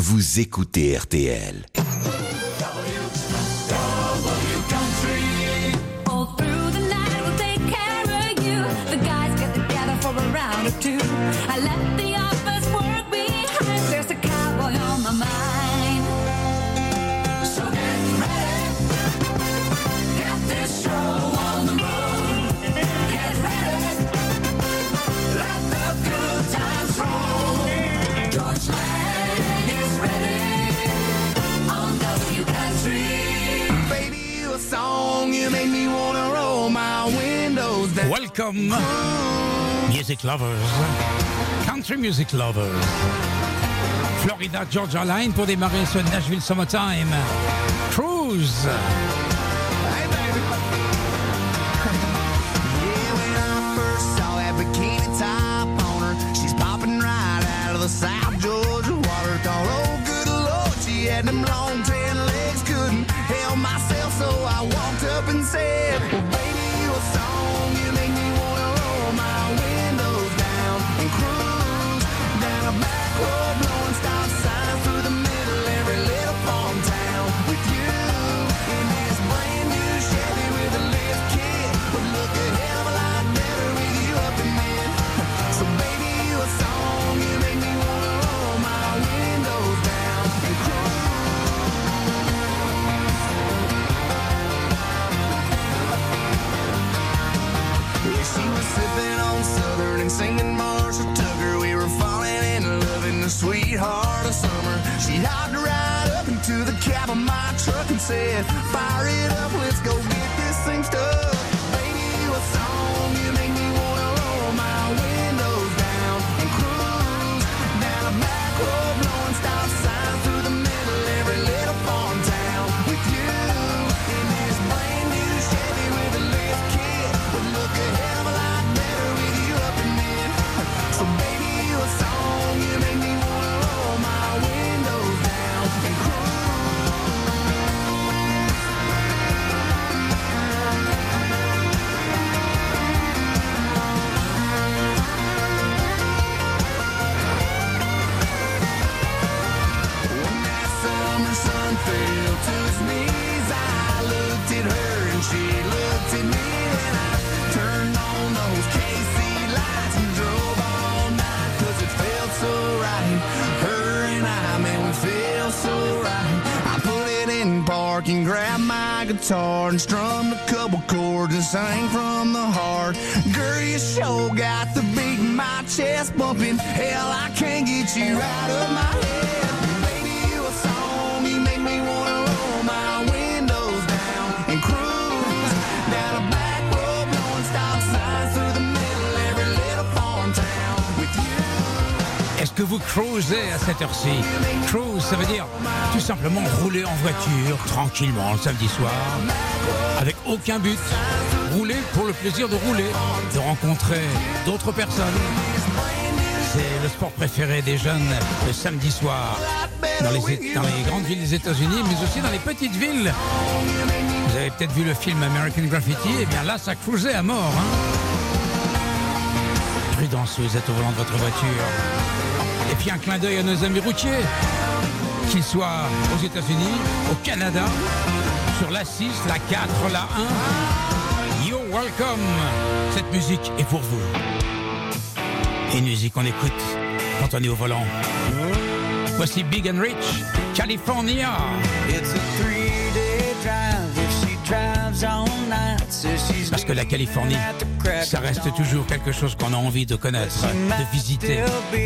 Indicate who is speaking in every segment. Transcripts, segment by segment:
Speaker 1: vous écoutez RTL.
Speaker 2: I left the office work behind. There's a cowboy on my mind. So get ready. Get this show on the road. Get ready. Let the good times roll. George Lang is ready on W Country. Baby, you a song, you make me wanna roll my windows down.
Speaker 3: Welcome. Music lovers, country music lovers. Florida Georgia Line pour démarrer ce Nashville Summertime. Cruise.
Speaker 2: Hey baby. Yeah, when I first saw that bikini top on her, she's popping right out of the South Georgia water. Thought, oh good Lord, she had them long tan legs, couldn't help myself, so I walked up and said, well baby, you a song, you make me wanna roll my windows down and cruise down a back road, blowing stop signs through the middle every little farm town with you in this brand new Chevy with a lift kit. Would look a hell of a lot better with you up in it. So baby, you a song, you make me wanna roll my windows down and cruise. Yeah, she was sipping on Southern and singing Marshall Tucker. We were falling in love in the sweetheart of summer. She hopped right up into the cab of my truck and said, fire it up, let's go get this thing stuck. Baby, you a song, you make me wanna roll my windows down and cruise down a back road, blowing stop signs through the middle every little farm town with you in this brand new Chevy with a lift kit. Would look a hell of a lot better with you up in it. So baby, you a song, you make me wanna roll my windows down and cruise. When that summer sun fell to his knees, I looked at her and she looked at me, and I turned on those KC lights and drove all night, 'cause it felt so right. Her and I, man, we felt so right. I put it in park and grabbed my guitar and strummed a couple chords and sang from the heart. Girl, you sure got the beat in my chest bumping. Hell, I can't get you out of my head. Baby, you a song, you make me wanna roll my windows down and cruise down a back road, blowing stop signs through the middle every little farm town with you.
Speaker 3: Est-ce que vous cruisez à cette heure-ci? Cruise, ça veut dire tout simplement rouler en voiture tranquillement le samedi soir, avec aucun but. Rouler pour le plaisir de rouler, de rencontrer d'autres personnes. C'est le sport préféré des jeunes le samedi soir, dans les grandes villes des États-Unis, mais aussi dans les petites villes. Vous avez peut-être vu le film American Graffiti, et bien là, ça cruisait à mort. Prudence si vous êtes au volant de votre voiture. Et puis un clin d'œil à nos amis routiers, qu'ils soient aux États-Unis, au Canada, sur la 6, la 4, la 1. You're welcome. Cette musique est pour vous. Et une musique qu'on écoute quand on est au volant. Voici Big and Rich, California.
Speaker 4: It's a 3-day drive if she drives all night.
Speaker 3: Parce que la Californie, ça reste toujours quelque chose qu'on a envie de connaître, de visiter.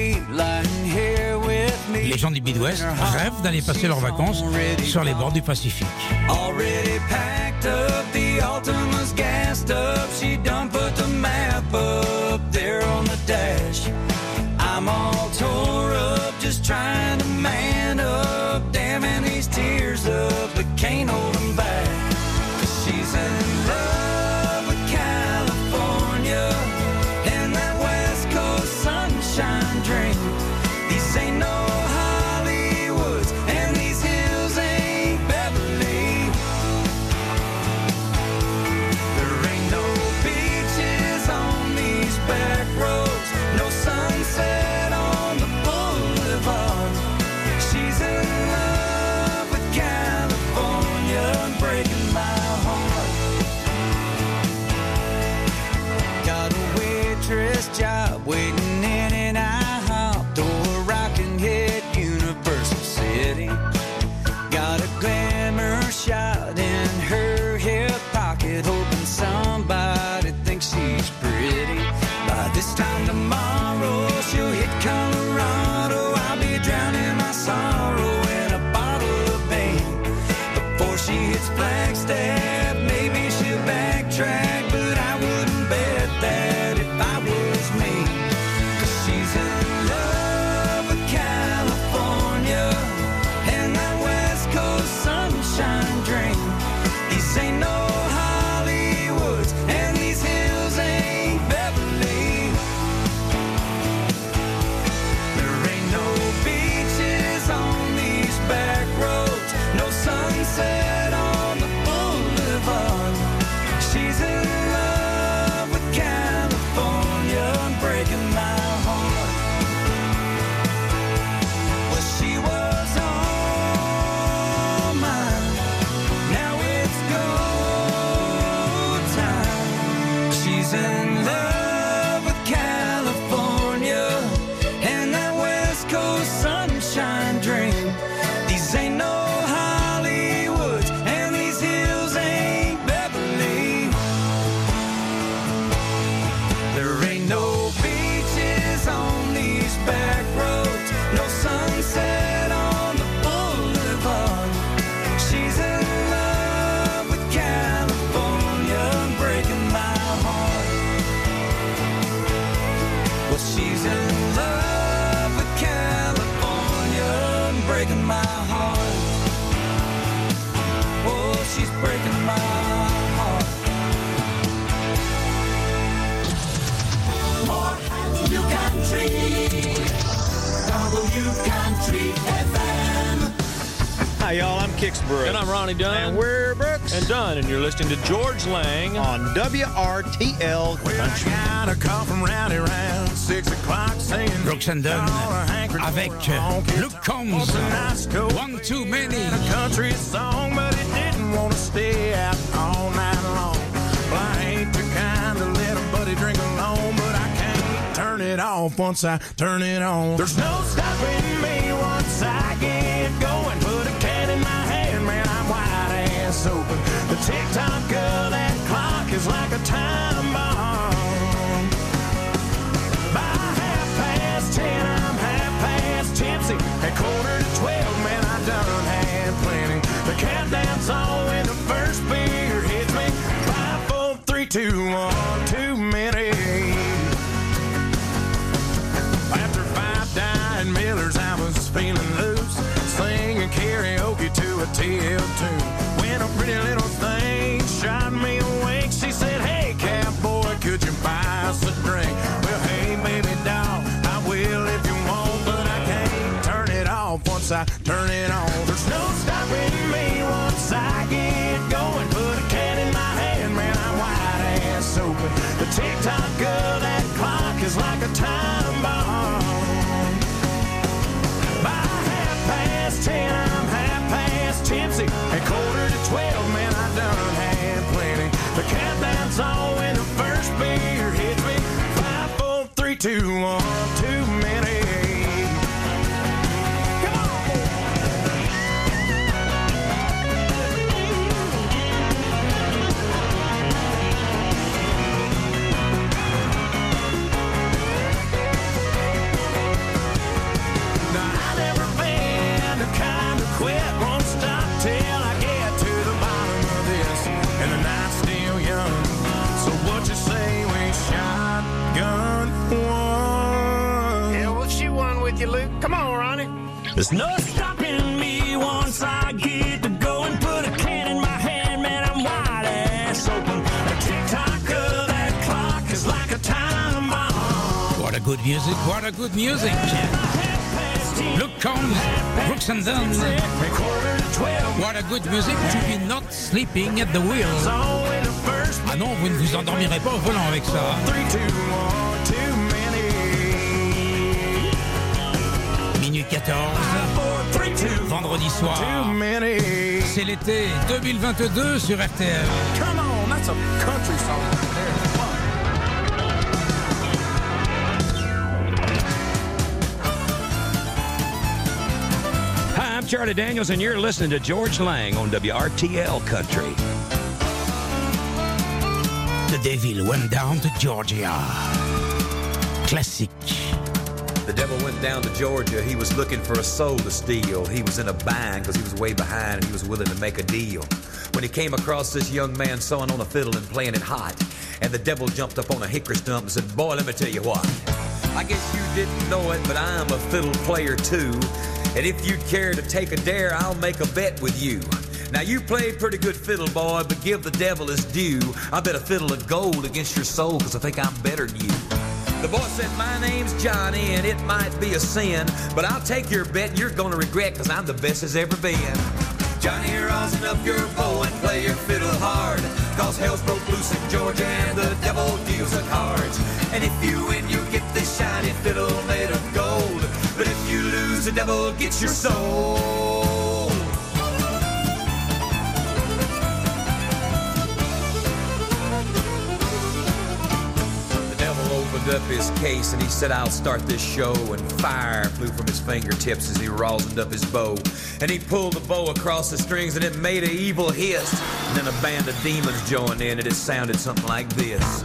Speaker 3: Les gens du Midwest rêvent d'aller passer leurs vacances sur les bords du Pacifique.
Speaker 4: Already packed up, the Altima's gassed up. She done put the map up there on the dash. I'm all tore up, just trying to man up. Damming these tears up, but can't hold them back. 'Cause she's in love with California and that West Coast sunshine dream. These ain't no Hollywoods and these hills ain't Beverly. There ain't no beaches on these back roads, no sunset on the boulevard. step. Maybe she'll backtrack, but I wouldn't bet that if I was me. 'Cause she's in love with California and that West Coast sunshine dream. These ain't no Hollywoods and these hills ain't Beverly. There ain't no beaches on these back roads, no sunset on the boulevard. She's in love with California and breaking my heart. Well, she was all mine. Now it's go time. She's in love with California and that West Coast sunshine dream. These ain't no Hollywoods and these hills ain't Beverly. There ain't no beaches on these back roads, no sunset on the boulevard. She's in love with California and breaking my heart. Well, she's in love with California and breaking my heart. Oh, she's breaking my heart.
Speaker 2: W Country, W Country FM.
Speaker 5: Hi, y'all. I'm Kix Brooks.
Speaker 6: And I'm Ronnie Dunn.
Speaker 5: And we're Brooks.
Speaker 6: And Dunn, and you're listening to George Lang
Speaker 5: on WRTL Country.
Speaker 2: Got a call from Rowdy around 6 o'clock saying
Speaker 3: Brooks and Dunn avec Luke Combs. One Too Many.
Speaker 2: a country song, but it didn't want to stay out all night long. Well, I ain't the kind to let a buddy drink alone, but I can't turn it off once I turn it on. There's no stopping me once I get going. Put a can in my hand, man, I'm wide ass open. The tick-tock of that clock is like a time bomb. By 10:30, I'm half past tipsy. At 11:45, man, I done had plenty. The countdown's on when the first beer hits me. 5, 4, 3, 2, 1, too many. After 5 dying Millers, I was feeling loose, singing karaoke to a TL tune. When a pretty little thing shot me awake, she said, "Hey, cowboy, could you buy us a drink?" Well, hey, baby doll, I will if you want, but I can't turn it off once I turn it on. There's no stopping me once I get going. Put a can in my hand, man, I'm wide ass open. The tick-tock of that clock is like a time bomb. By 10:30, I'm half past tipsy. At 11:45, man, I done had plenty. The countdown's on when the first beer hits me. 5, 4, 3, 2, 1, too many. Come on! Now, I've never been the kind to quit, won't stop till I get to the bottom of this. And the night's still young, so what you say we shotgun one?
Speaker 5: Yeah, we'll shoot one with you, Luke. Come on, Ronnie.
Speaker 4: There's no stopping me once I get to go and put a can in my hand, man, I'm wide ass open. The tick-tock of that clock is like a time bomb.
Speaker 3: What a good music, what a good music. Luke Combs, Brooks and Dunn. What a good music to be not sleeping at the wheel. Ah non, vous ne vous endormirez pas au volant avec ça.
Speaker 2: 3, 2, 1, too many.
Speaker 3: Minute 14, vendredi soir.
Speaker 2: Too many.
Speaker 3: C'est l'été 2022 sur RTL.
Speaker 2: Come on, that's a country song right there.
Speaker 7: Hi, I'm Charlie Daniels, and you're listening to George Lang on WRTL Country.
Speaker 3: The Devil Went Down to Georgia. Classique.
Speaker 8: The devil went down to Georgia. He was looking for a soul to steal. He was in a bind because he was way behind and he was willing to make a deal. when he came across this young man sawing on a fiddle and playing it hot. And the devil jumped up on a hickory stump and said, "Boy, let me tell you what. I guess you didn't know it, but I'm a fiddle player too. And if you'd care to take a dare, I'll make a bet with you. Now, you played pretty good fiddle, boy, but give the devil his due. I bet a fiddle of gold against your soul, because I think I'm better than you." The boy said, "My name's Johnny, and it might be a sin, but I'll take your bet, and you're going to regret, because I'm the best as ever been." "Johnny, rosin up your bow and play your fiddle hard, cause hell's broke loose in Georgia, and the devil deals the cards. And if you win, you get this shiny fiddle made of gold, but if you lose, the devil gets your soul." Opened up his case and he said, "I'll start this show," and fire flew from his fingertips as he rosined up his bow. And he pulled the bow across the strings and it made an evil hiss. And then a band of demons joined in and it sounded something like this.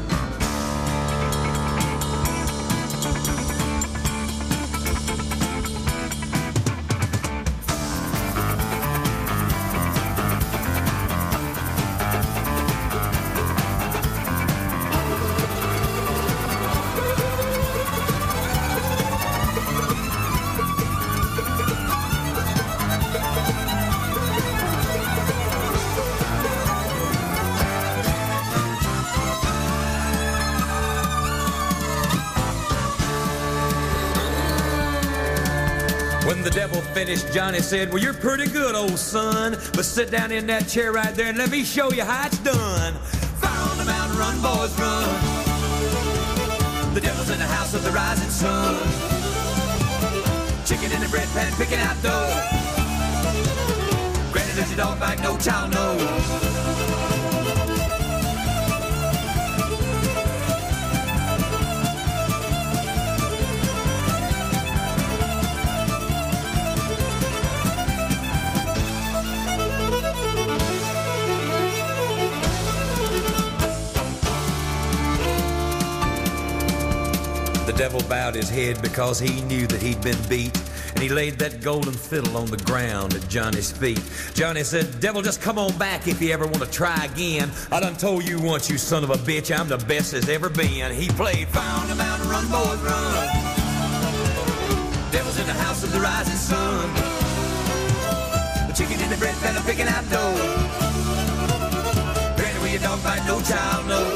Speaker 8: When the devil finished, Johnny said, "Well, you're pretty good, old son, but sit down in that chair right there and let me show you how it's done. Fire on the mountain, run, boys, run. The devil's in the house of the rising sun. Chicken in the bread pan, picking out dough. Granny, does your dog bite? No child knows." The devil bowed his head because he knew that he'd been beat, and he laid that golden fiddle on the ground at Johnny's feet. Johnny said, "Devil, just come on back if you ever want to try again. I done told you once, you son of a bitch, I'm the best there's ever been." He played, "Fire on the mountain, run, boys, run. Devil's in the house of the rising sun. The chicken in the bread pan, I'm picking out dough. Granny, where your dog bite, no child knows."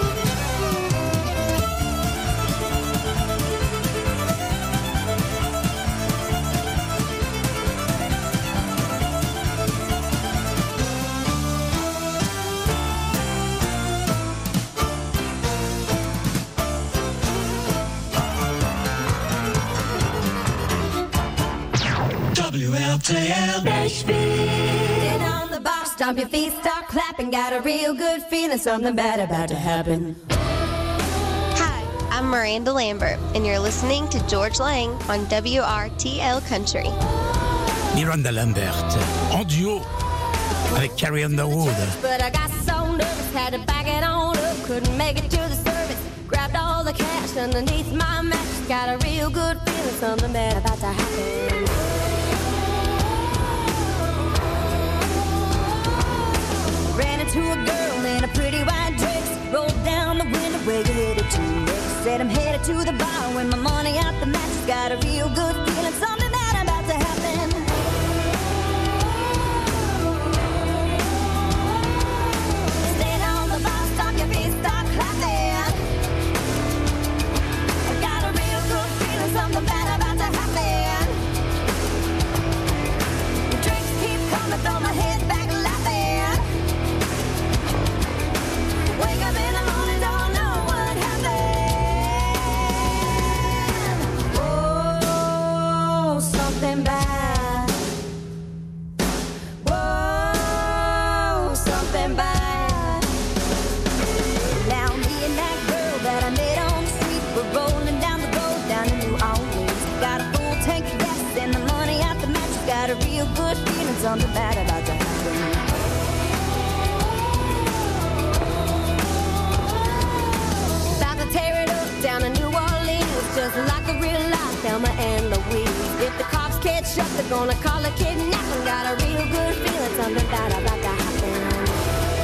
Speaker 9: WLTL Nashville. Get on the box, stomp your feet, start clapping. Got a real good feeling, something bad about to happen.
Speaker 10: Hi, I'm Miranda Lambert, and you're listening to George Lang on WRTL Country.
Speaker 3: Miranda Lambert, en duo avec Carrie Underwood.
Speaker 9: But I got so nervous, had to back it on up. Couldn't make it to the service. Grabbed all the cash underneath my mattress. Got a real good feeling, something bad about to happen. Ran into a girl in a pretty white dress. Rolled down the window, where you headed to next? Said I'm headed to the bar with my money out the mattress. Got a real good feeling, something bad about to happen. Stand on the bar, stomp your feet, start clapping. I got a real good feeling, something bad about to happen. The drinks keep coming, throw my head back laughing. Wake up in the morning, don't know what happened. Oh, something bad. Whoa, something bad. Now me and that girl that I met on the street, we're rolling down the road down in New Orleans. Got a full tank of gas and the money out the mattress. Got a real good feeling, something bad about to happen. Tear it up down in New Orleans, just like a real life Thelma and Louise. If the cops catch up, they're gonna call it kidnapping. Got a real good feeling, something bad about to happen.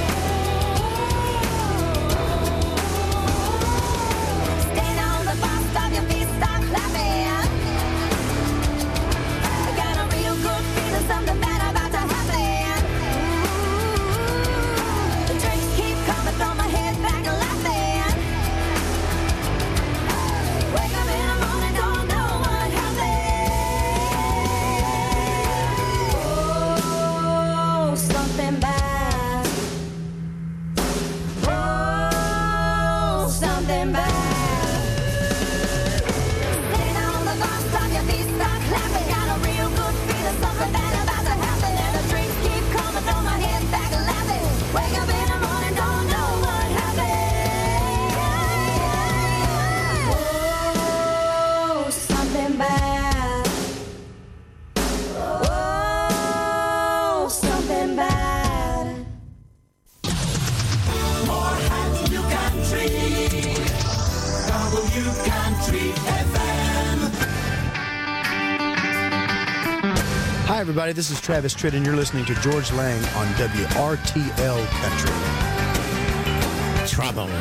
Speaker 11: everybody. This is Travis Tritt, and you're listening to George Lang on WRTL Country.
Speaker 3: Trouble.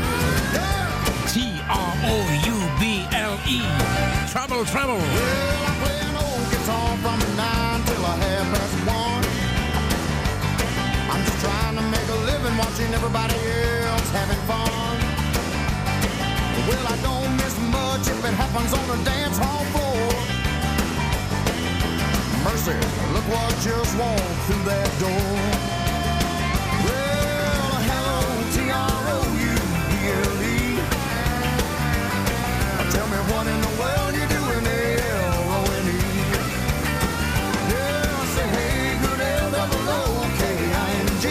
Speaker 3: T-R-O-U-B-L-E. Trouble, trouble.
Speaker 2: Well, I play an old guitar from 9 till 1:30. I'm just trying to make a living watching everybody else having fun. Well, I don't miss much if it happens on the dance hall floor. Mercy, look what just walked through that door. Well, hello, T-R-O-U-B-L-E. Tell me what in the world you doing, L-O-N-E. Yeah, I say, hey, good L-O-O-K-I-N-G.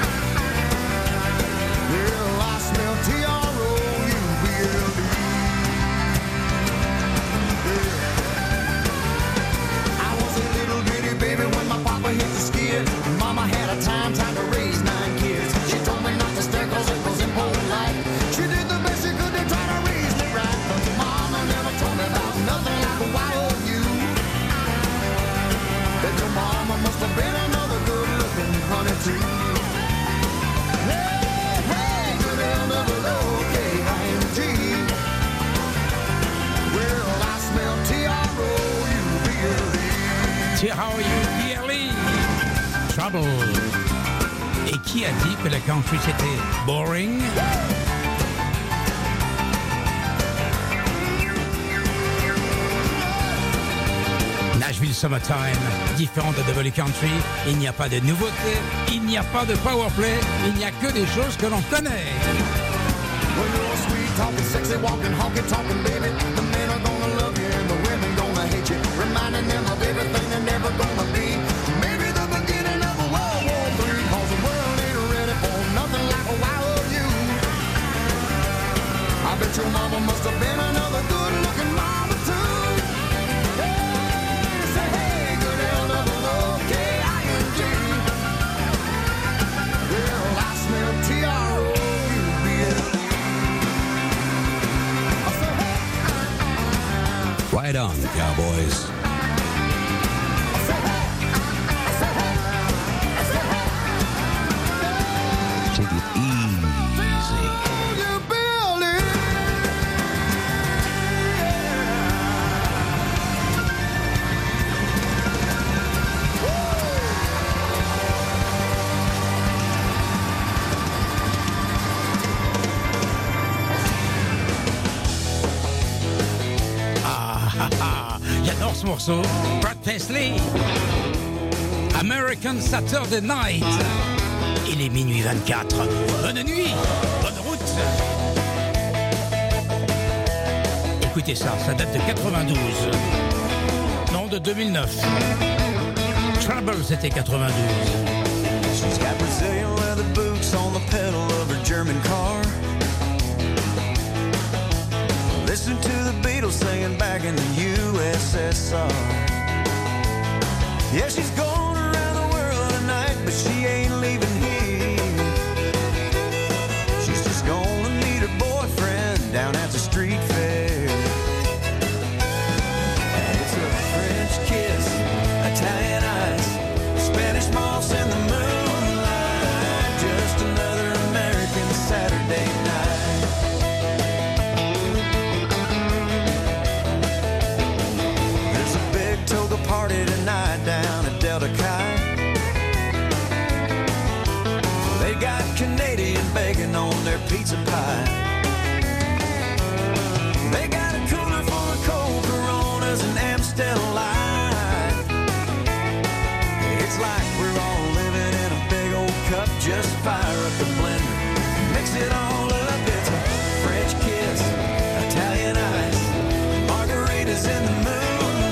Speaker 2: Well, I smell T-R-O-U-B-L-E. Yeah. I was a little bitty baby when my papa hit the skid. Mama had a time to raise 9 kids. She told me not to stare 'cause it was impolite. She did the best she could to try to raise me right, but Mama never told me about nothing like a Y-O-U. That your mama must have been another good-looking honey too. Hey, hey, good L-O-O-K-I-N-G. Well, I smell T-R-O-U-B-L-E.
Speaker 3: T-R-O-U-B-L-E. Trouble. Et qui a dit que la country c'était boring? Nashville Summertime, différent de Double Country, il n'y a pas de nouveautés, il n'y a pas de powerplay, il n'y a que des choses que l'on connaît.
Speaker 2: Well, you're sweet talking, sexy walking, honky talking, baby. The men are gonna love you and the women gonna hate you, reminding them of everything they're never gonna be. Maybe the beginning of a World War III, 'cause the world ain't ready for nothing like a Y-O-U. I bet your mama must have been another good-looking mama too. Hey, say hey, good L-O-O-K-I-N-G. Well, I smell T-R-O-U-B-L-E.
Speaker 7: Right on, Cowboys. Take it easy.
Speaker 3: J'adore ce morceau. Brad Paisley. American Saturday Night. Il est minuit 24. Bonne nuit. Bonne route. Écoutez ça, ça date de 92. Non, de 2009. Trouble, c'était 92.
Speaker 4: She's got Brazilian leather boots on the pedal of her German car. Listen to the Beatles singing back in the USSR. Yeah, she's going around the world tonight, but she ain't leaving here. She's just gonna meet her boyfriend down at the street fair. And it's a French kiss, Italian ice, Spanish moss in the moonlight, just another American Saturday night. Party tonight down at Delta Chi. They got Canadian bacon on their pizza pie. They got a cooler full of cold Coronas and Amstel Light. It's like we're all living in a big old cup. Just fire up the blender, mix it all up. It's a French kiss, Italian ice, margaritas in the moon.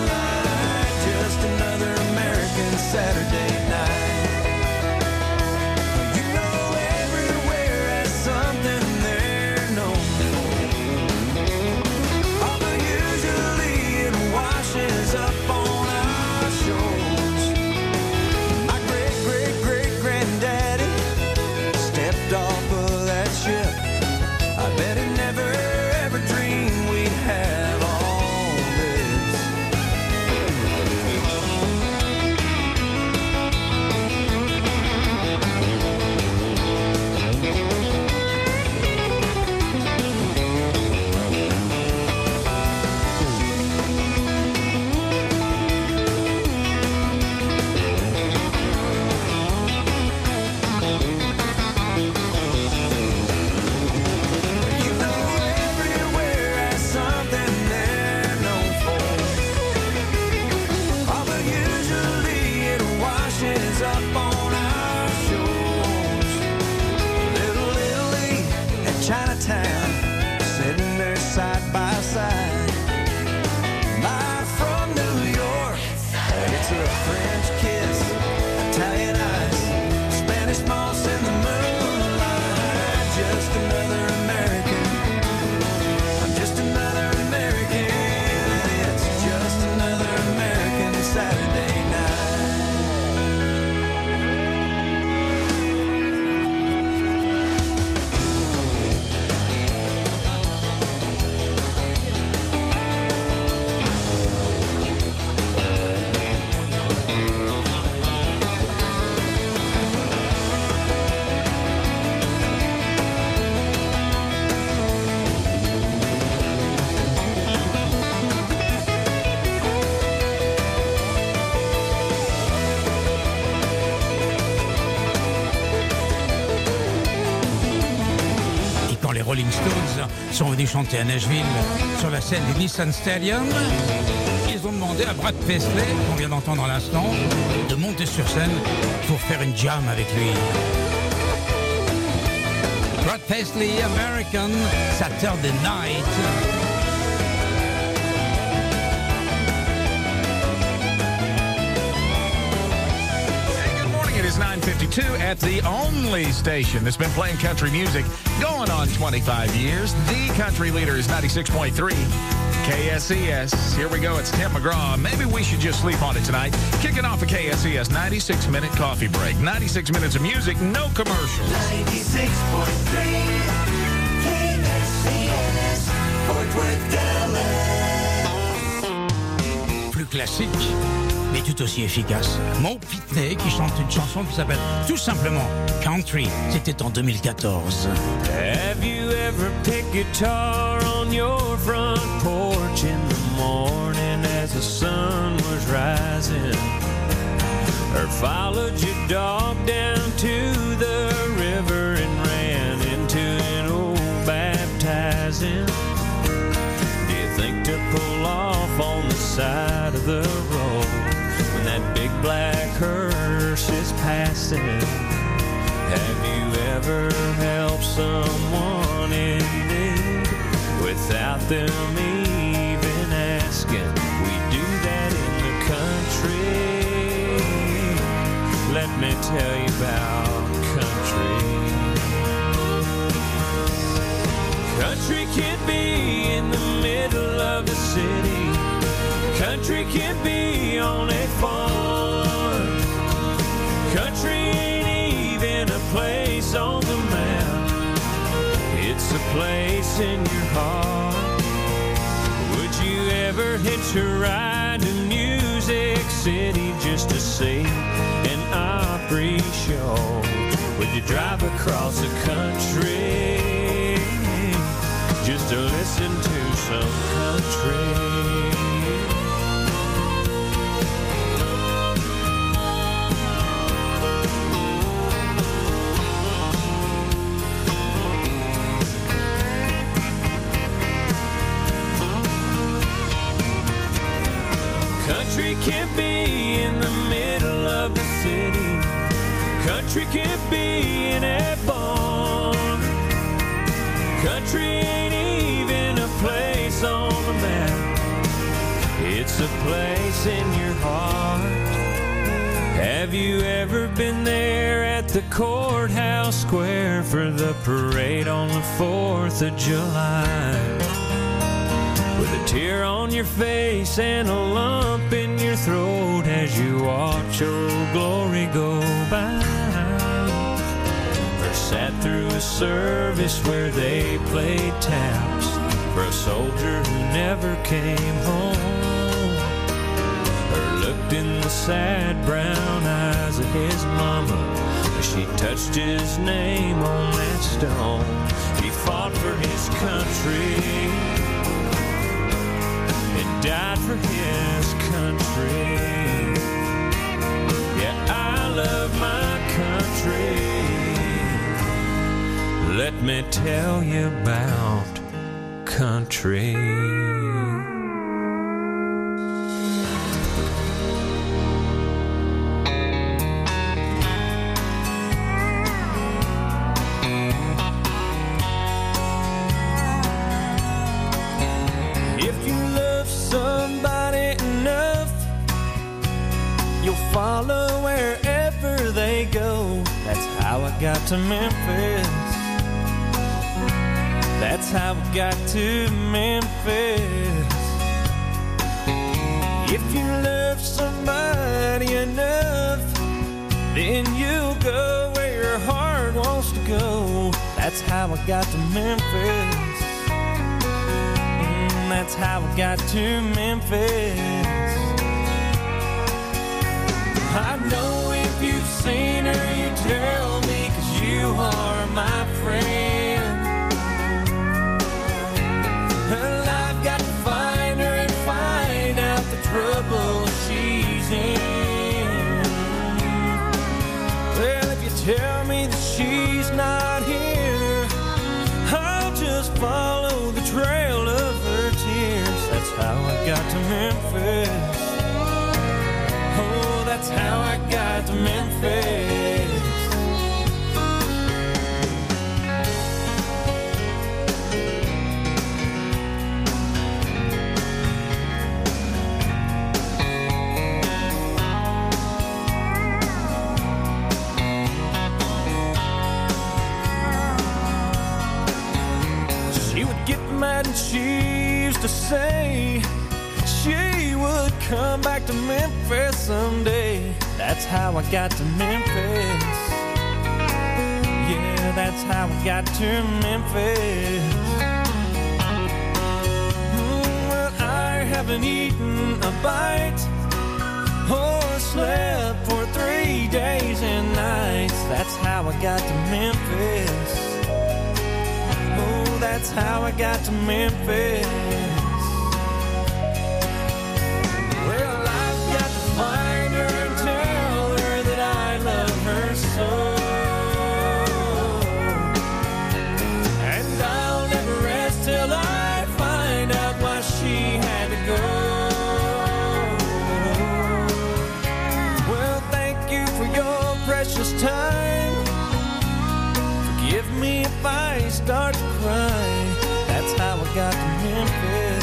Speaker 4: Another American Saturday night. You know everywhere has something they're known for. Although usually it washes up on our shores. My great-great-great-granddaddy stepped off of that ship Italian ice, Spanish moss in the moonlight. Just another American. I'm just another American. It's just another American Saturday night.
Speaker 3: Les Rolling Stones sont venus chanter à Nashville sur la scène du Nissan Stadium. Ils ont demandé à Brad Paisley, qu'on vient d'entendre à l'instant, de monter sur scène pour faire une jam avec lui. Brad Paisley, American Saturday Night.
Speaker 12: It is 9:52 at the only station that's been playing country music going on 25 years. The country leader is 96.3 KSES. Here we go. It's Tim McGraw. Maybe we should just sleep on it tonight. Kicking off a KSES 96-minute coffee break. 96 minutes of music, no commercials.
Speaker 2: 96.3 KSES, Fort Worth, Dallas.
Speaker 3: Plus classique, mais tout aussi efficace. Mo Pitney qui chante une chanson qui s'appelle tout simplement Country. C'était en 2014.
Speaker 4: Have you ever picked guitar on your front porch in the morning as the sun was rising? Or followed your dog down to the river and ran into an old baptizing? Do you think to pull off on the side of the road when that big black hearse is passing? Have you ever helped someone in need without them even asking? We do that in the country. Let me tell you about country. Country can be in the middle of the city. Country can be on a farm. Country ain't even a place on the map. It's a place in your heart. Would you ever hitch a ride to Music City just to see an Opry show? Would you drive across the country just to listen to some country? Country can't be in the middle of the city. Country can't be in a barn. Country ain't even a place on the map. It's a place in your heart. Have you ever been there at the courthouse square for the parade on the 4th of July? With a tear on your face and a lump in your throat as you watch Old Glory go by. Or sat through a service where they played taps for a soldier who never came home. Or looked in the sad brown eyes of his mama as she touched his name on that stone. He fought for his country, died for his country. Yeah, I love my country. Let me tell you about country. Follow wherever got to Memphis. That's how I got to Memphis. If you love somebody enough, then you'll go where your heart wants to go. That's how I got to Memphis. That's how I got to Memphis. I know if you've seen her, you tell me, 'cause you are my friend. Well, I've got to find her and find out the trouble she's in. Well, if you tell me that she's not here, I'll just follow the trail of her tears. That's how I got to Memphis. Oh, that's how I got to Memphis. She would get mad and she used to say she would come back to Memphis someday. That's how I got to Memphis. Yeah, that's how I got to Memphis. Well, I haven't eaten a bite or slept for 3 days and nights. That's how I got to Memphis. Oh, that's how I got to Memphis. Well, I've got to find her and tell her that I love her so. And I'll never rest till I find out why she had to go. Well, thank you for your precious time. Forgive me if I start to cry. That's how I got to Memphis.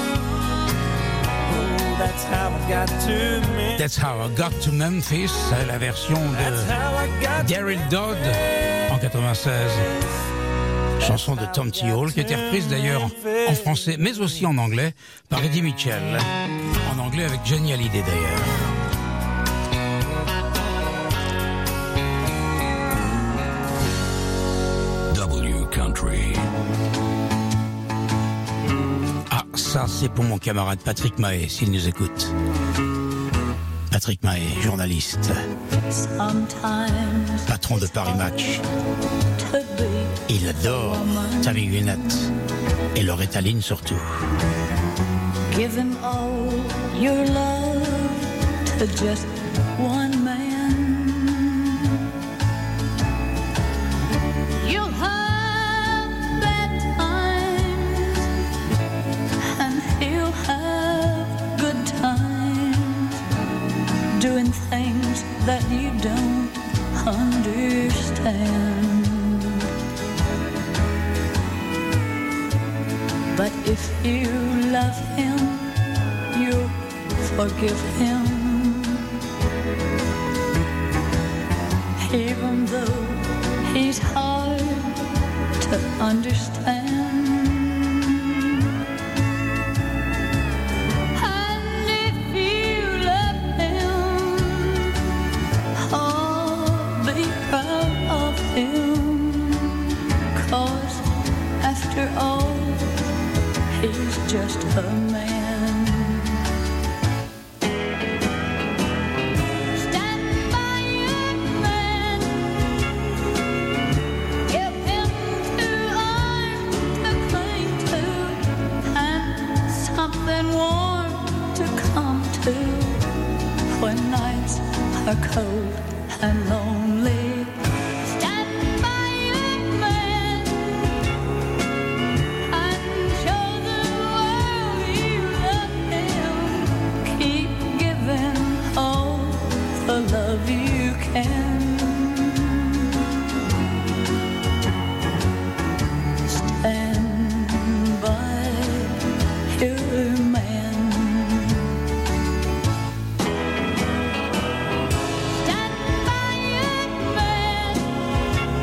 Speaker 4: That's how I got to Memphis.
Speaker 3: That's How I Got to Memphis, c'est la version de Daryl Dodd en 96. Chanson de Tom T. Hall qui a été reprise d'ailleurs en français mais aussi en anglais par Eddie Mitchell. En anglais avec Johnny Hallyday d'ailleurs.
Speaker 1: Country.
Speaker 3: Ah, ça c'est pour mon camarade Patrick Mahé, s'il nous écoute. Patrick Mahé, journaliste, patron de Paris Match. Il adore Tammy Wynette et Loretta Lynn surtout.
Speaker 13: Give him all your love to just one man. You'll have bad times and he'll have good times, doing things that you don't understand. But if you love him, you'll forgive him, even though he's hard to understand. And if you love him, oh, be proud of him, 'cause after all, he's just a man. Stand by your man. Give him 2 arms to cling to and something warm to come to when nights are cold and lonely. Love you can. Stand by your man. Stand by your man.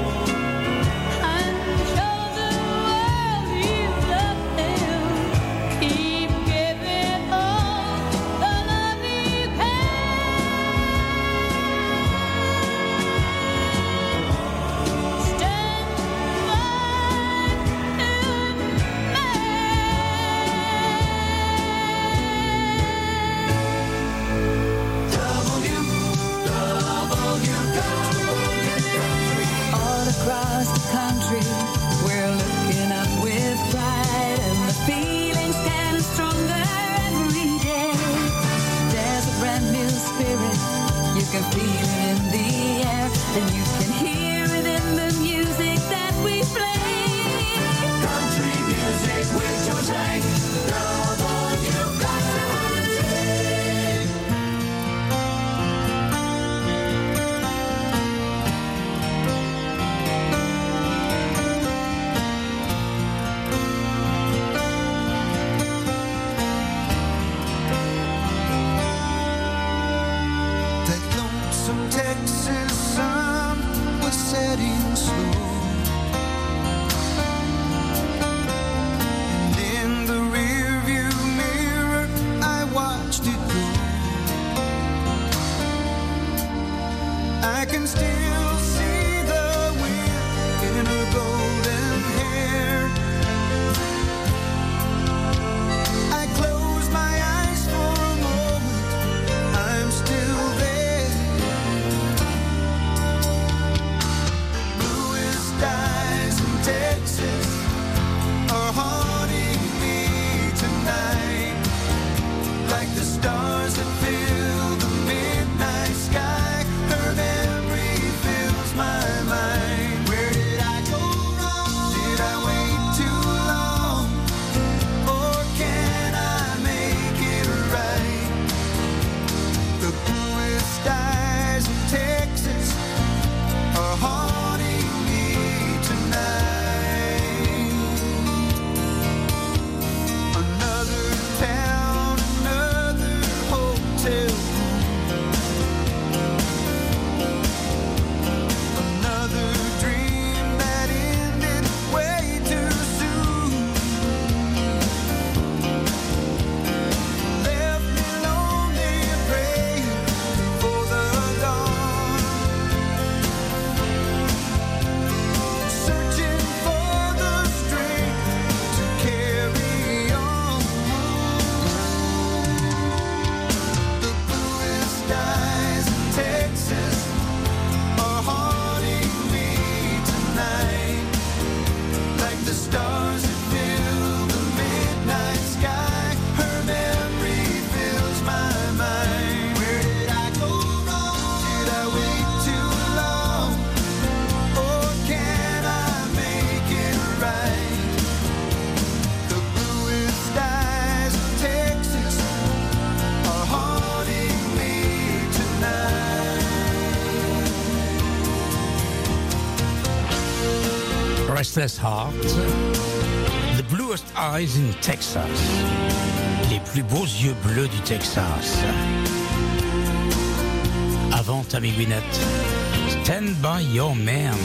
Speaker 3: Restless Heart, The Bluest Eyes in Texas, les plus beaux yeux bleus du Texas. Avant Tammy Wynette, Stand By Your Man.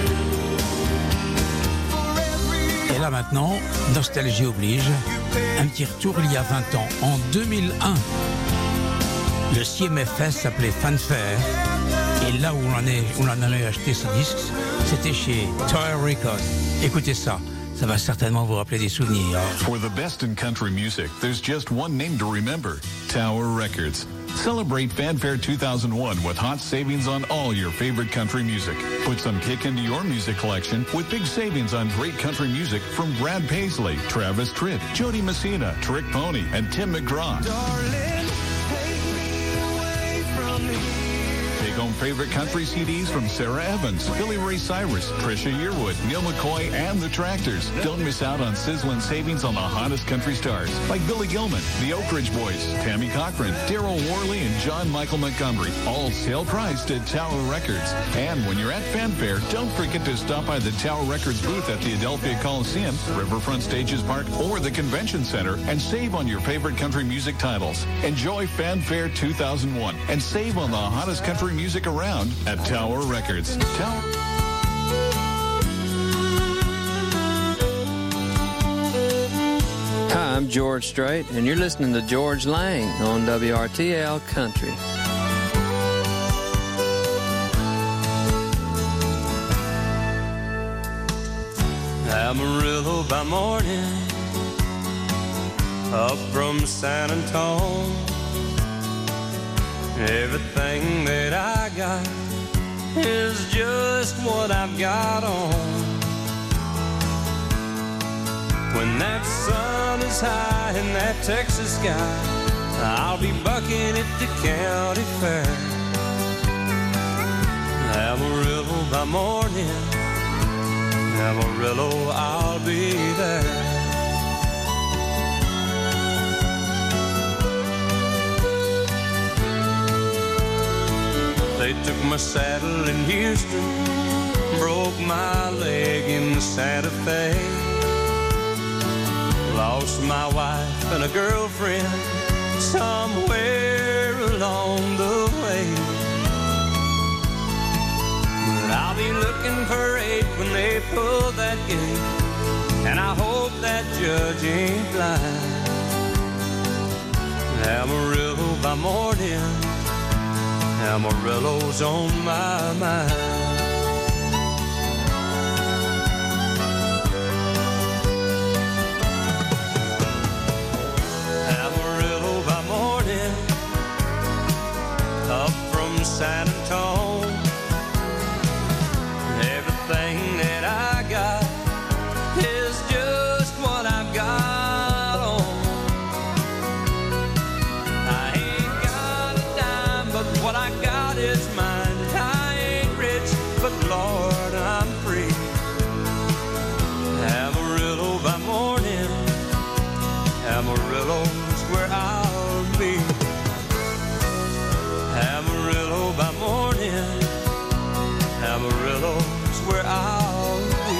Speaker 3: Et là maintenant, nostalgie oblige, un petit retour il y a 20 ans, en 2001. Le CMFS s'appelait Fanfare, et là où on en allait acheter ce disque, c'était chez Tower Records. Écoutez ça, ça va certainement vous rappeler des souvenirs.
Speaker 14: For the best in country music, there's just one name to remember, Tower Records. Celebrate Fanfare 2001 with hot savings on all your favorite country music. Put some kick into your music collection with big savings on great country music from Brad Paisley, Travis Tritt, Jody Messina, Trick Pony, and Tim McGraw.
Speaker 2: Darling, take me away from here.
Speaker 14: Take home favorite country CDs from Sarah Evans, Billy Ray Cyrus, Trisha Yearwood, Neil McCoy, and the Tractors. Don't miss out on sizzling savings on the hottest country stars like Billy Gilman, the Oak Ridge Boys, Tammy Cochran, Daryl Worley, and John Michael Montgomery. All sale priced at Tower Records. And when you're at Fanfare, don't forget to stop by the Tower Records booth at the Adelphia Coliseum, Riverfront Stages Park, or the Convention Center and save on your favorite country music titles. Enjoy Fanfare 2001 and save on the hottest country music around at Tower Records.
Speaker 15: Hi, I'm George Strait, and you're listening to George Lang on WRTL Country.
Speaker 4: Amarillo by morning, up from San Antonio. Everything that I got is just what I've got on. When that sun is high in that Texas sky, I'll be bucking at the county fair. Amarillo by morning, Amarillo, I'll be there. They took my saddle in Houston, broke my leg in Santa Fe. Lost my wife and a girlfriend somewhere along the way. But I'll be looking for 8 when they pull that gate, and I hope that judge ain't blind. Amarillo by morning, Amarillo's on my mind. Amarillo by morning, up from San Antonio. Everything that I got is just what I've got on. I ain't got a dime, but what I got is mine. I ain't rich, but Lord, I'm free. Amarillo by morning, Amarillo's where I'll be. Amarillo by morning, Amarillo's where I'll be.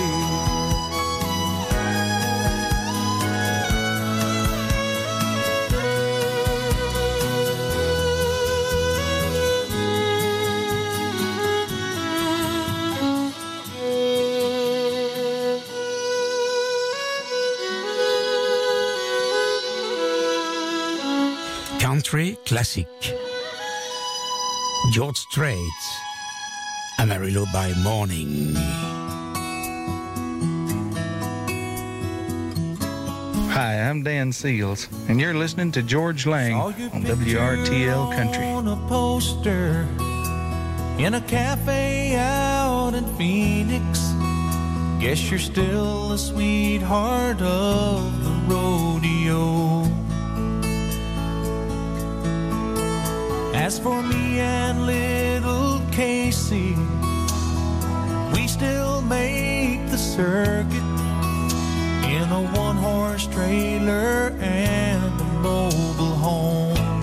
Speaker 3: Country classique. George Strait, Amarillo by morning.
Speaker 16: Hi, I'm Dan Seals, and you're listening to George Lang on WRTL Country.
Speaker 2: On a poster in a cafe out in Phoenix. Guess you're still the sweetheart of the rodeo. As for me and little Casey, we still make the circuit in a one-horse trailer and a mobile home.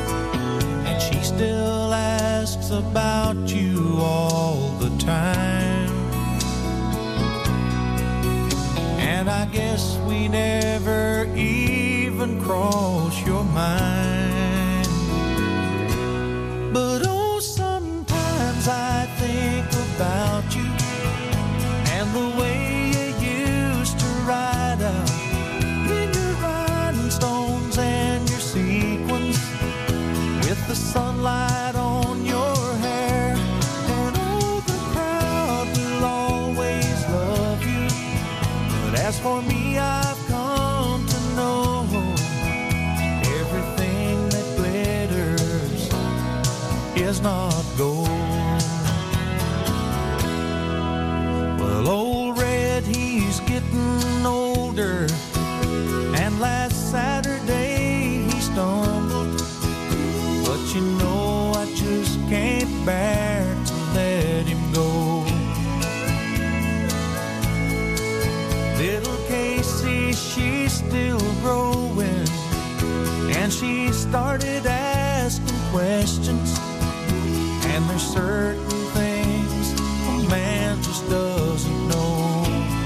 Speaker 2: And she still asks about you all the time.
Speaker 4: guess we never even crossed your mind. But oh, sometimes I think about you and the way you used to ride out in your rhinestones and your sequins with the sunlight on your hair. And oh, the crowd will always love you. But as for me, I've come to know everything that glitters is not gold. Well, old Red, he's getting older, and last Saturday he stumbled. But you know I just can't bear to let him go. Little Casey, she's still growing, and she started asking questions. And there's certain things a man just doesn't know.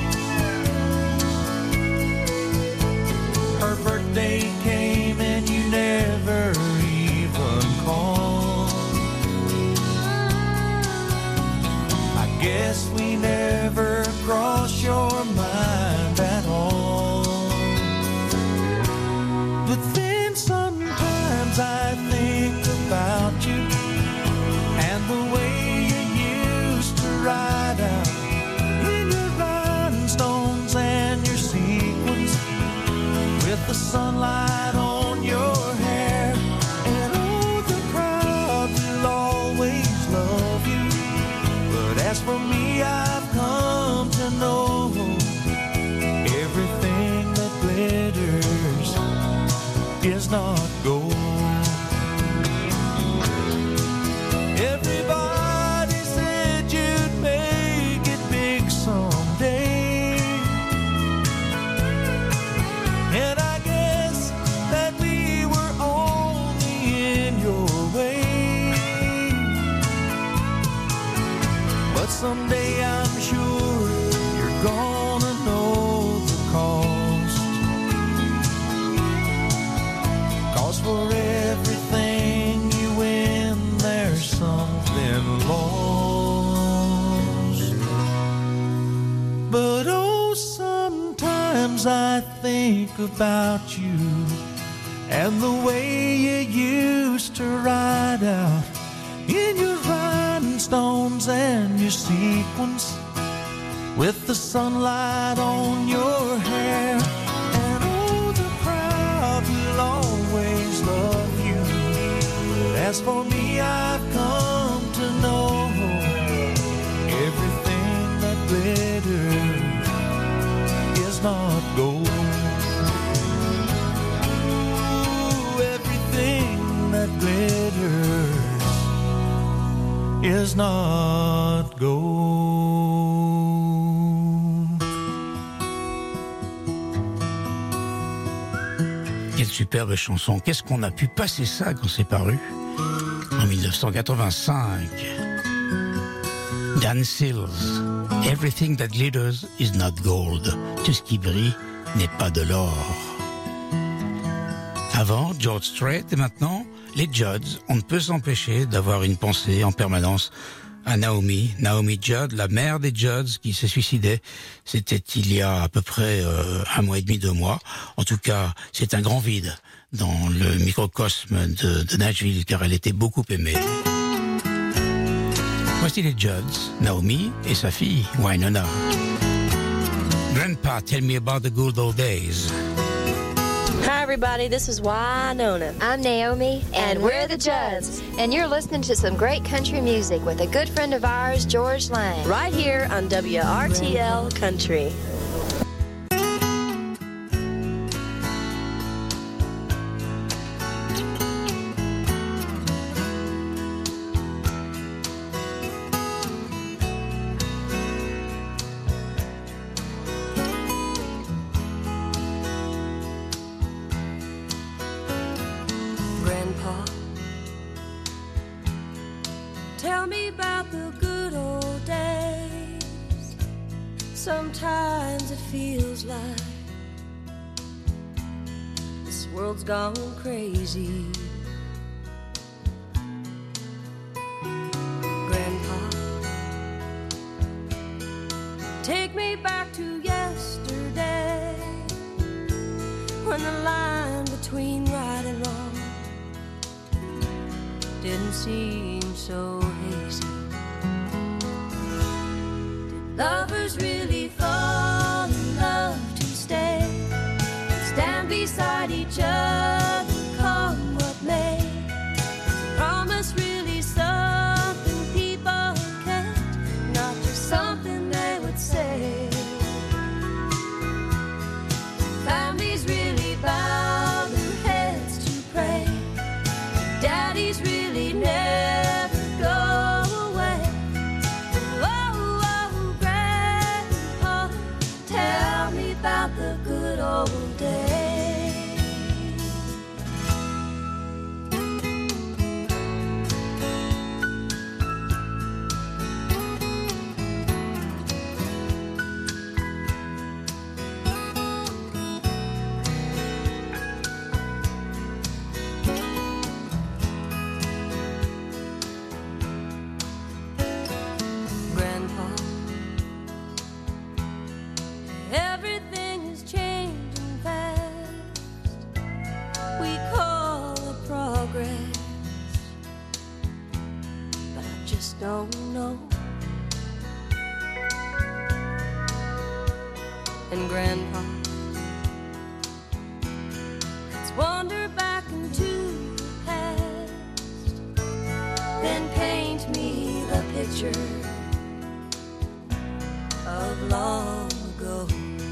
Speaker 4: Her birthday came and you never even called. I guess we never crossed your mind at all. But then sometimes I think about you and the way you used to ride out in your rhinestones and your sequins with the sunlight on your hair. And oh, the crowd will always love you. But as for me, I've come to know everything that glitters is not gold. Everybody said you'd make it big someday, and I guess that we were only in your way. But someday I'm sure you're gonna know the cost. 'Cause for everything you win, there's something lost. But oh, sometimes I think about you and the way you used to ride out in your rhinestones and your sequins with the sunlight on your hair. And oh, the crowd will always love you. But as for me, I've come to know everything that glitters is not gold. Ooh, everything that glitters is not gold.
Speaker 3: Quelle superbe chanson. Qu'est-ce qu'on a pu passer ça quand c'est paru en 1985. Dan Seals, Everything that glitters is not gold. Tout ce qui brille n'est pas de l'or. Avant, George Strait, et maintenant, les Judds. On ne peut s'empêcher d'avoir une pensée en permanence à Naomi Judd, la mère des Judds, qui s'est suicidée. C'était il y a à peu près 1 mois et demi, 2 mois. En tout cas, c'est un grand vide dans le microcosme de Nashville, car elle était beaucoup aimée. Voici les Judds, Naomi et sa fille, Wynonna. Grandpa, tell me about the good old days.
Speaker 17: Hi, everybody. This is Wynonna.
Speaker 10: I'm Naomi,
Speaker 17: and we're the Judds.
Speaker 10: and you're listening to some great country music with a good friend of ours, George Lang.
Speaker 17: Right here on WRTL Country.
Speaker 13: Grandpa, tell me about the good old days. Sometimes it feels like world's gone crazy. Grandpa, take me back to yesterday, when the line between right and wrong didn't seem so hazy. Did lovers really fall in love to stay, stand beside each other, come what may? Is promise really something people can't, not just something they would say? Families really bow their heads to pray, daddies really never go away. Oh, oh, Grandpa, tell me about the good old days. Grandpa, everything is changing fast. We call it progress, but I just don't know. And Grandpa, let's wander back into the past, then paint me the picture of long ago.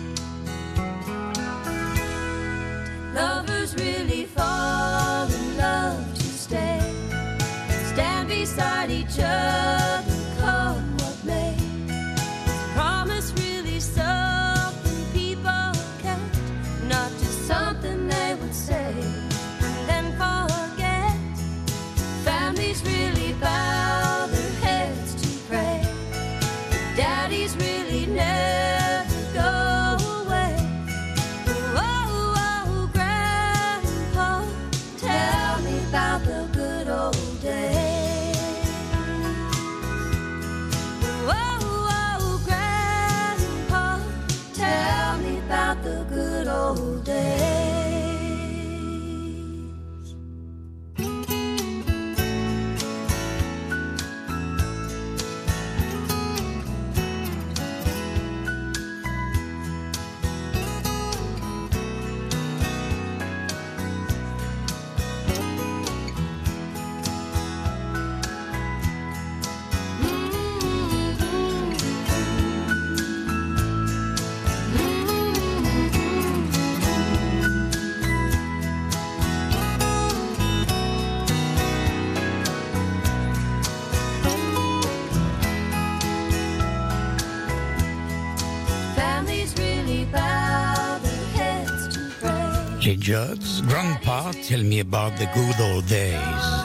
Speaker 13: Lovers really fall in love to stay, stand beside each other, come what may? Is promise really something people can't, not just something they would say and then forget? Families really bow their heads to pray, daddies really never go away. Oh, oh, Grandpa, tell me about the good old days. Oh, oh, Grandpa, tell me about the good old days. Families really bow their heads to pray.
Speaker 3: Les Judds, Grandpa, Tell Me About the Good Old Days.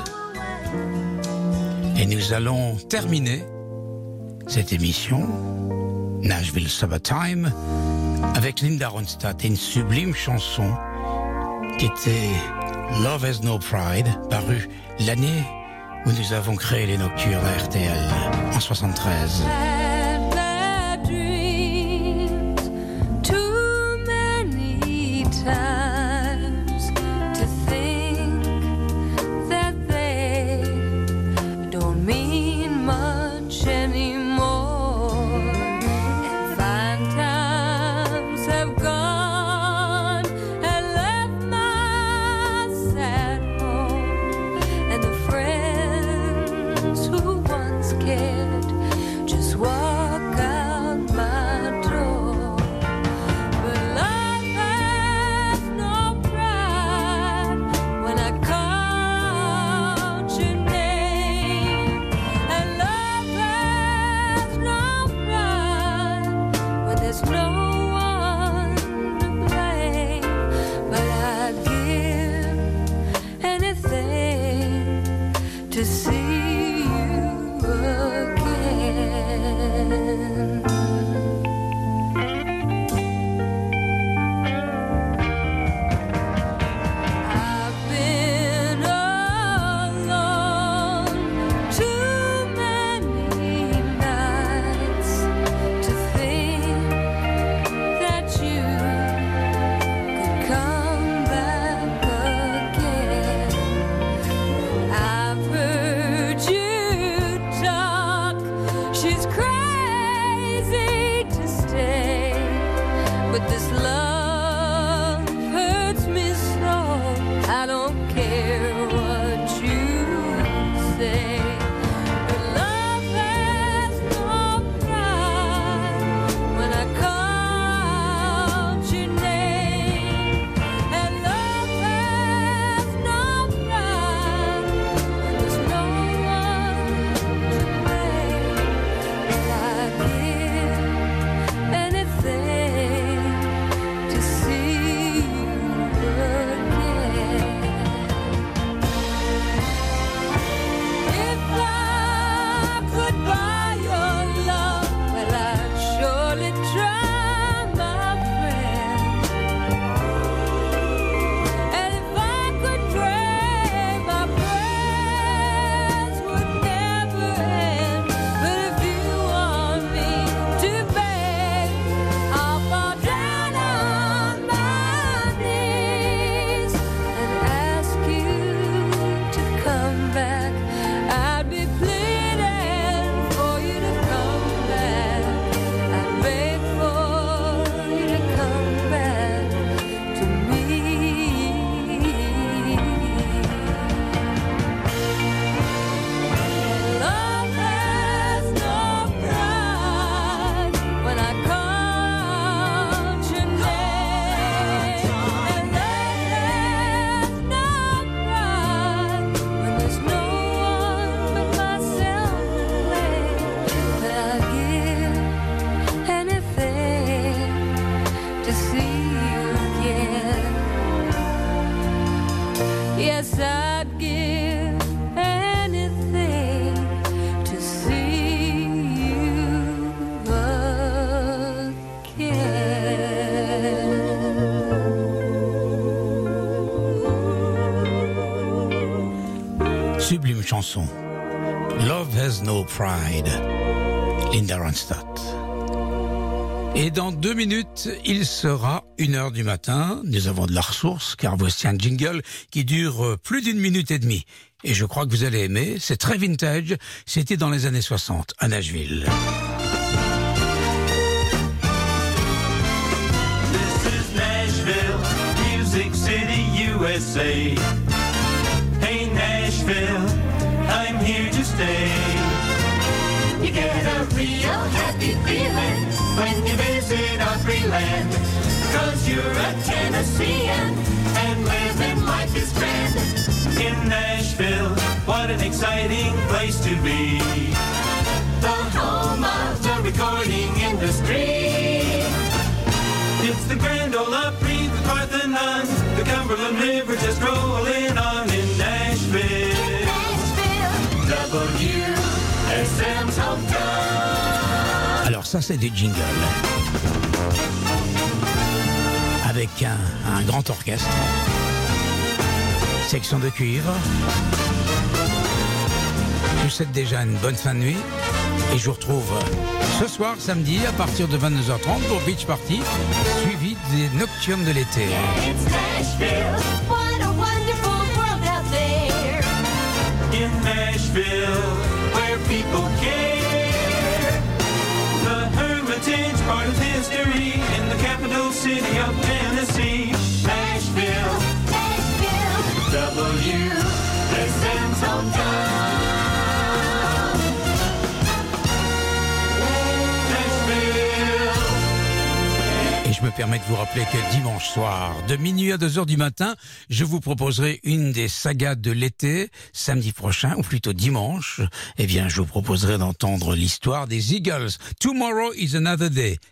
Speaker 3: Et nous allons terminer cette émission, Nashville Summertime, avec Linda Ronstadt et une sublime chanson qui était Love Has No Pride, parue l'année où nous avons créé les Nocturnes à RTL, en 73.
Speaker 13: Had bad dreams too many times to think that they don't mean much anymore, and fine times have gone and left my sad home, and the friends who once cared just walk out my door. But life has no pride when I called your name,
Speaker 3: chanson. Love Has No Pride, Linda Ronstadt. Et dans 2 minutes, il sera 1h du matin. Nous avons de la ressource, car voici un jingle qui dure plus d'1 minute et demie. Et je crois que vous allez aimer. C'est très vintage. C'était dans les années 60, à Nashville.
Speaker 4: This is Nashville, Music City, USA. Hey Nashville, I'm here to stay.
Speaker 2: You get a real happy feeling when you visit our free land. 'Cause you're a Tennessean and living life is grand.
Speaker 4: In Nashville, what an exciting place to be.
Speaker 2: The home of the recording industry.
Speaker 4: It's the Grand Ole Opry, the Parthenon, the Cumberland River just rolling on in Nashville.
Speaker 2: WSM's hometown.
Speaker 3: Alors ça, c'est des jingles. Avec un grand orchestre. Section de cuivre. Je vous souhaite déjà une bonne fin de nuit. Et je vous retrouve ce soir, samedi, à partir de 22h30 pour Beach Party, suivi des Nocturnes de l'été.
Speaker 2: It's Nashville, what a wonderful world out there.
Speaker 4: In Nashville, where people care. The Hermitage, part of history, in the capital city of Tennessee. Nashville,
Speaker 2: WSM's hometown.
Speaker 3: Et je me permets de vous rappeler que dimanche soir, de minuit à 2h du matin, je vous proposerai une des sagas de l'été. Samedi prochain, ou plutôt dimanche, eh bien, je vous proposerai d'entendre l'histoire des Eagles. Tomorrow is another day.